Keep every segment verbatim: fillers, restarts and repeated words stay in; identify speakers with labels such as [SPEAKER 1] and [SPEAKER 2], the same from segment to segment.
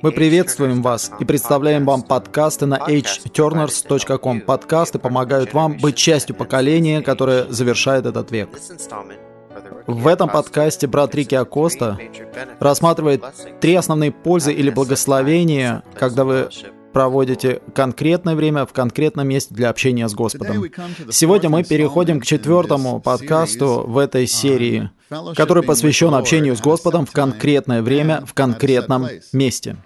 [SPEAKER 1] Мы приветствуем вас и представляем вам подкасты на эйч тернерс точка ком. Подкасты помогают вам быть частью поколения, которое завершает этот век. В этом подкасте брат Рики Акоста рассматривает три основные пользы или благословения, когда вы проводите конкретное время в конкретном месте для общения с Господом. Сегодня мы переходим к четвертому подкасту в этой серии, который посвящен общению с Господом в конкретное время, в конкретном месте.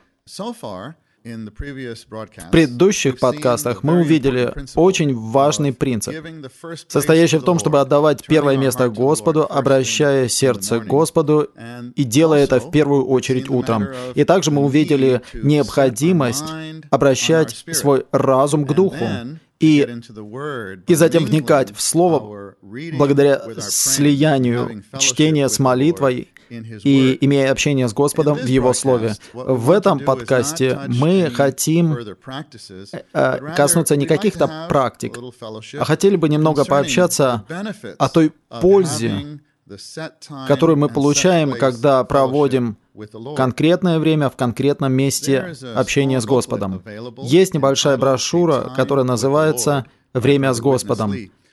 [SPEAKER 1] В предыдущих подкастах мы увидели очень важный принцип, состоящий в том, чтобы отдавать первое место Господу, обращая сердце к Господу и делая это в первую очередь утром. И также мы увидели необходимость обращать свой разум к Духу и, и затем вникать в Слово благодаря слиянию чтения с молитвой и имея общение с Господом в Его Слове. В этом подкасте мы хотим коснуться не каких-то практик, а хотели бы немного пообщаться о той пользе, которую мы получаем, когда проводим конкретное время в конкретном месте общения с Господом. Есть небольшая брошюра, которая называется «Время с Господом»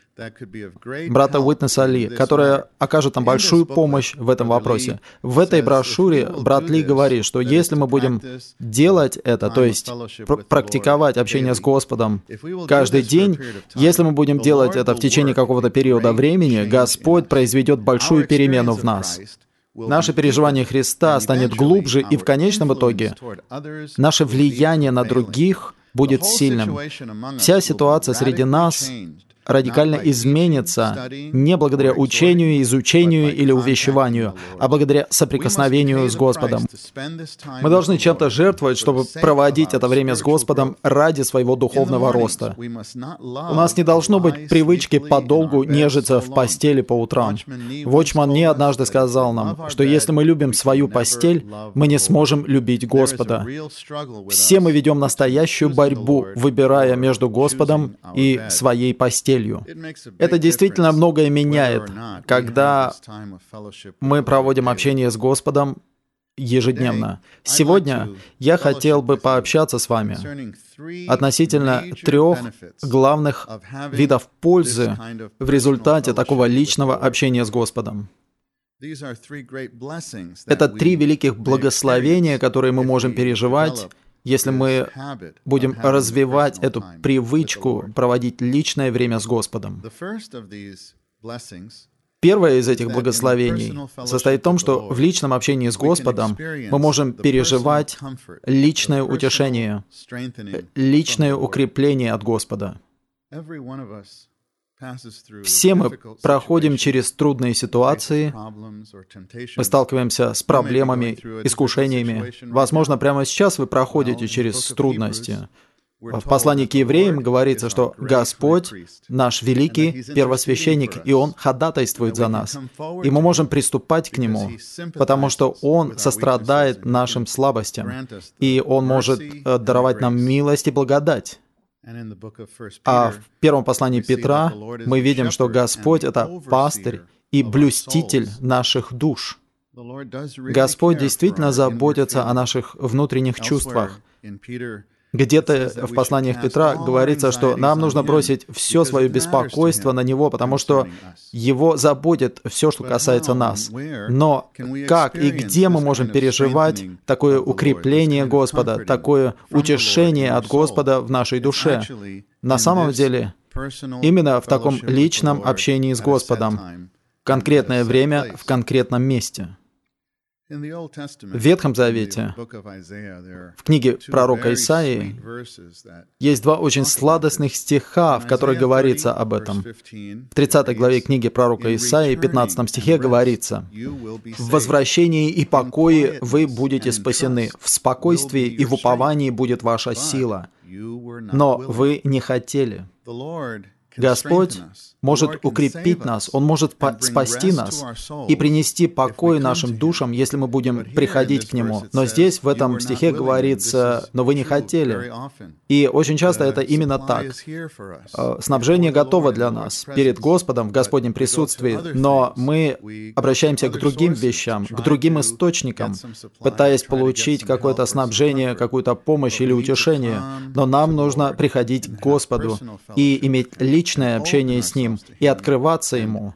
[SPEAKER 1] брата Уитнеса Ли, которая окажет нам большую помощь в этом вопросе. В этой брошюре брат Ли говорит, что если мы будем делать это, то есть пр- практиковать общение с Господом каждый день, если мы будем делать это в течение какого-то периода времени, Господь произведет большую перемену в нас. Наше переживание Христа станет глубже, и в конечном итоге наше влияние на других будет сильным. Вся ситуация среди нас радикально изменится не благодаря учению, изучению или увещеванию, а благодаря соприкосновению с Господом. Мы должны чем-то жертвовать, чтобы проводить это время с Господом ради своего духовного роста. У нас не должно быть привычки подолгу нежиться в постели по утрам. Вотчман Не однажды сказал нам, что если мы любим свою постель, мы не сможем любить Господа. Все мы ведем настоящую борьбу, выбирая между Господом и своей постелью. Это действительно многое меняет, когда мы проводим общение с Господом ежедневно. Сегодня я хотел бы пообщаться с вами относительно трех главных видов пользы в результате такого личного общения с Господом. Это три великих благословения, которые мы можем переживать, если мы будем развивать эту привычку проводить личное время с Господом. Первое из этих благословений состоит в том, что в личном общении с Господом мы можем переживать личное утешение, личное укрепление от Господа. Все мы проходим через трудные ситуации, мы сталкиваемся с проблемами, искушениями. Возможно, прямо сейчас вы проходите через трудности. В послании к евреям говорится, что Господь — наш великий первосвященник, и Он ходатайствует за нас. И мы можем приступать к Нему, потому что Он сострадает нашим слабостям, и Он может даровать нам милость и благодать. А в первом послании Петра мы видим, что Господь — это пастырь и блюститель наших душ. Господь действительно заботится о наших внутренних чувствах. Где-то в посланиях Петра говорится, что нам нужно бросить все свое беспокойство на Него, потому что Его заботит все, что касается нас. Но как и где мы можем переживать такое укрепление Господа, такое утешение от Господа в нашей душе? На самом деле, именно в таком личном общении с Господом, в конкретное время, в конкретном месте. В Ветхом Завете, в книге пророка Исаии, есть два очень сладостных стиха, в которых говорится об этом. В тридцатой главе книги пророка Исаии, пятнадцатом стихе говорится: «В возвращении и покое вы будете спасены, в спокойствии и в уповании будет ваша сила. Но вы не хотели». Господь может укрепить нас, Он может по- спасти нас и принести покой нашим душам, если мы будем приходить к Нему. Но здесь, в этом стихе говорится, «но вы не хотели». И очень часто это именно так. Снабжение готово для нас перед Господом в Господнем присутствии, но мы обращаемся к другим вещам, к другим источникам, пытаясь получить какое-то снабжение, какую-то помощь или утешение. Но нам нужно приходить к Господу и иметь личное общение с Ним, и открываться Ему,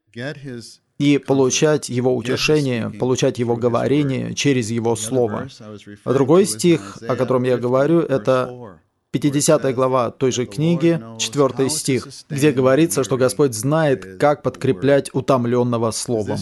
[SPEAKER 1] и получать Его утешение, получать Его говорение через Его Слово. А другой стих, о котором я говорю, это пятидесятая глава той же книги, четвёртый стих, где говорится, что Господь знает, как подкреплять утомленного Словом.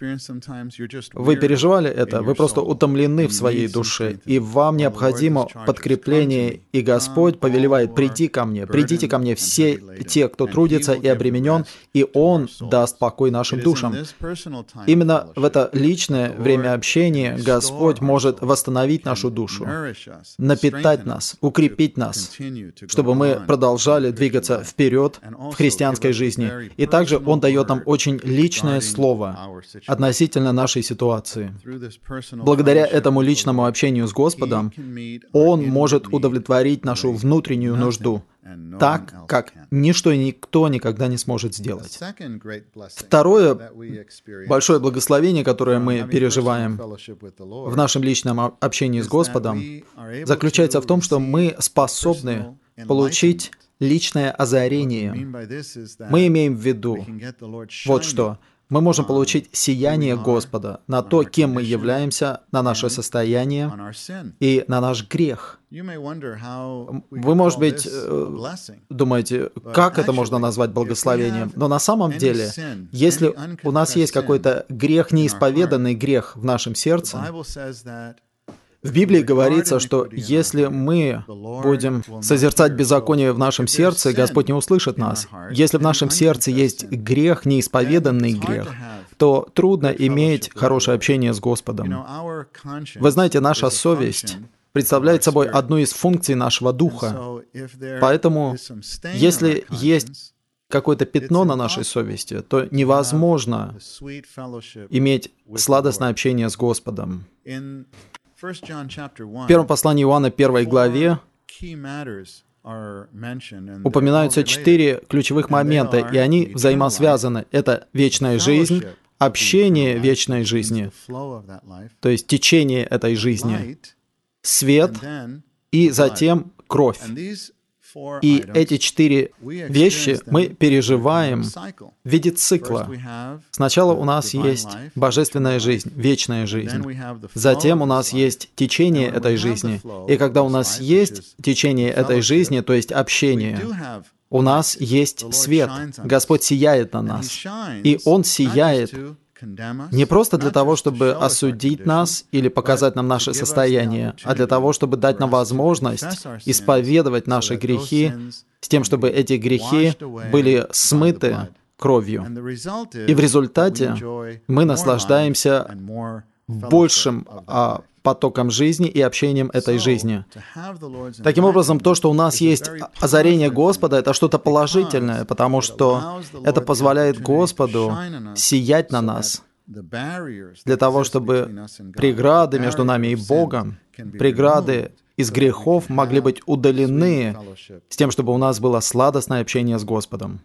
[SPEAKER 1] Вы переживали это? Вы просто утомлены в своей душе, и вам необходимо подкрепление, и Господь повелевает: «Приди ко мне, придите ко мне все те, кто трудится и обременен, и Он даст покой нашим душам». Именно в это личное время общения Господь может восстановить нашу душу, напитать нас, укрепить нас, чтобы мы продолжали двигаться вперед в христианской жизни. И также Он дает нам очень личное слово относительно нашей ситуации. Благодаря этому личному общению с Господом Он может удовлетворить нашу внутреннюю нужду так, как ничто и никто никогда не сможет сделать. Второе большое благословение, которое мы переживаем в нашем личном общении с Господом, заключается в том, что мы способны получить личное озарение. Мы имеем в виду вот что. Мы можем получить сияние Господа на то, кем мы являемся, на наше состояние и на наш грех. Вы, может быть, думаете, как это можно назвать благословением? Но на самом деле, если у нас есть какой-то грех, неисповеданный грех в нашем сердце, в Библии говорится, что если мы будем созерцать беззаконие в нашем сердце, Господь не услышит нас. Если в нашем сердце есть грех, неисповеданный грех, то трудно иметь хорошее общение с Господом. Вы знаете, наша совесть представляет собой одну из функций нашего духа. Поэтому, если есть какое-то пятно на нашей совести, то невозможно иметь сладостное общение с Господом. В первом послании Иоанна, первой главе, упоминаются четыре ключевых момента, и они взаимосвязаны. Это вечная жизнь, общение вечной жизни, то есть течение этой жизни, свет и затем кровь. И эти четыре вещи мы переживаем в виде цикла. Сначала у нас есть божественная жизнь, вечная жизнь. Затем у нас есть течение этой жизни. И когда у нас есть течение этой жизни, то есть общение, у нас есть свет. Господь сияет на нас. И Он сияет не просто для того, чтобы осудить нас или показать нам наше состояние, а для того, чтобы дать нам возможность исповедовать наши грехи с тем, чтобы эти грехи были смыты кровью. И в результате мы наслаждаемся большим а, потоком жизни и общением этой жизни. Таким образом, то, что у нас есть озарение Господа, это что-то положительное, потому что это позволяет Господу сиять на нас, для того, чтобы преграды между нами и Богом, преграды из грехов могли быть удалены с тем, чтобы у нас было сладостное общение с Господом.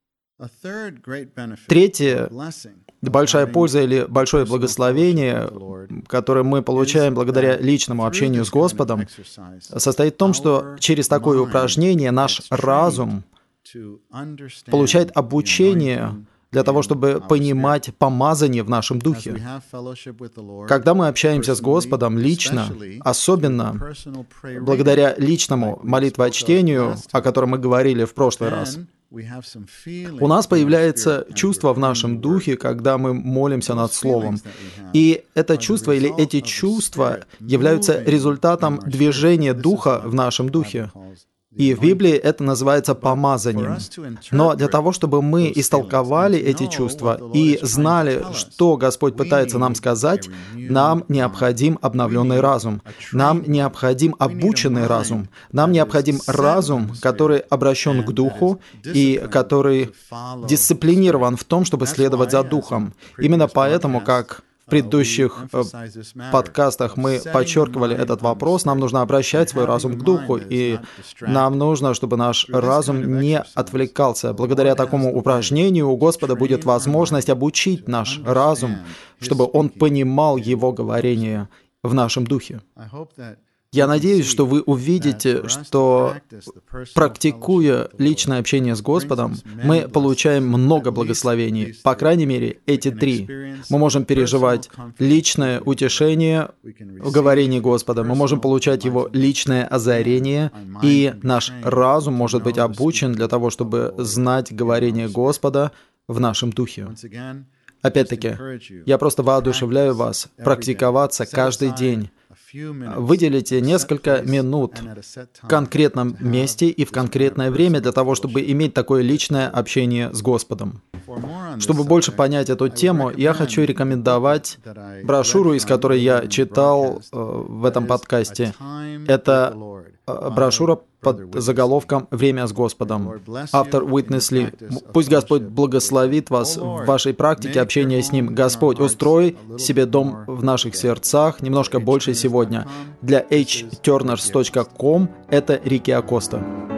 [SPEAKER 1] Третье, большая польза или большое благословение, которое мы получаем благодаря личному общению с Господом, состоит в том, что через такое упражнение наш разум получает обучение для того, чтобы понимать помазание в нашем духе. Когда мы общаемся с Господом лично, особенно благодаря личному молитвочтению, о котором мы говорили в прошлый раз, у нас появляется чувство в нашем духе, когда мы молимся над Словом. И это чувство или эти чувства являются результатом движения Духа в нашем духе. И в Библии это называется помазанием. Но для того, чтобы мы истолковали эти чувства и знали, что Господь пытается нам сказать, нам необходим обновленный разум. Нам необходим обученный разум. Нам необходим разум, который обращен к Духу и который дисциплинирован в том, чтобы следовать за Духом. Именно поэтому, как в предыдущих э, подкастах мы подчеркивали этот вопрос, нам нужно обращать свой разум к Духу, и нам нужно, чтобы наш разум не отвлекался. Благодаря такому упражнению у Господа будет возможность обучить наш разум, чтобы он понимал Его говорение в нашем духе. Я надеюсь, что вы увидите, что, практикуя личное общение с Господом, мы получаем много благословений. По крайней мере, эти три. Мы можем переживать личное утешение в говорении Господа, мы можем получать Его личное озарение, и наш разум может быть обучен для того, чтобы знать говорение Господа в нашем духе. Опять-таки, я просто воодушевляю вас практиковаться каждый день. Выделите несколько минут в конкретном месте и в конкретное время для того, чтобы иметь такое личное общение с Господом. Чтобы больше понять эту тему, я хочу рекомендовать брошюру, из которой я читал э, в этом подкасте. Это э, брошюра под заголовком «Время с Господом». Автор Уитнес Ли. Пусть Господь благословит вас в вашей практике общения с Ним. Господь, устрой себе дом в наших сердцах немножко больше сегодня. Для эйч тернерс точка ком это Рики Акоста.